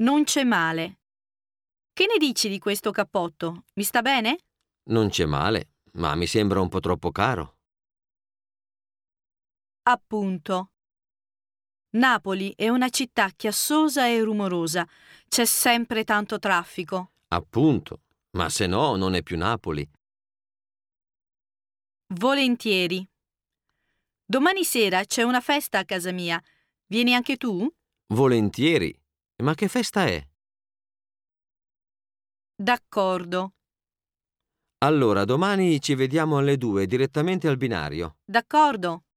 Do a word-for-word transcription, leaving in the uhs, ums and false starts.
Non c'è male. Che ne dici di questo cappotto? Mi sta bene? Non c'è male, ma mi sembra un po' troppo caro. Appunto. Napoli è una città chiassosa e rumorosa. C'è sempre tanto traffico. Appunto, ma se no non è più Napoli. Volentieri. Domani sera c'è una festa a casa mia. Vieni anche tu? Volentieri. Ma che festa è? D'accordo. Allora, domani ci vediamo alle due direttamente al binario. D'accordo.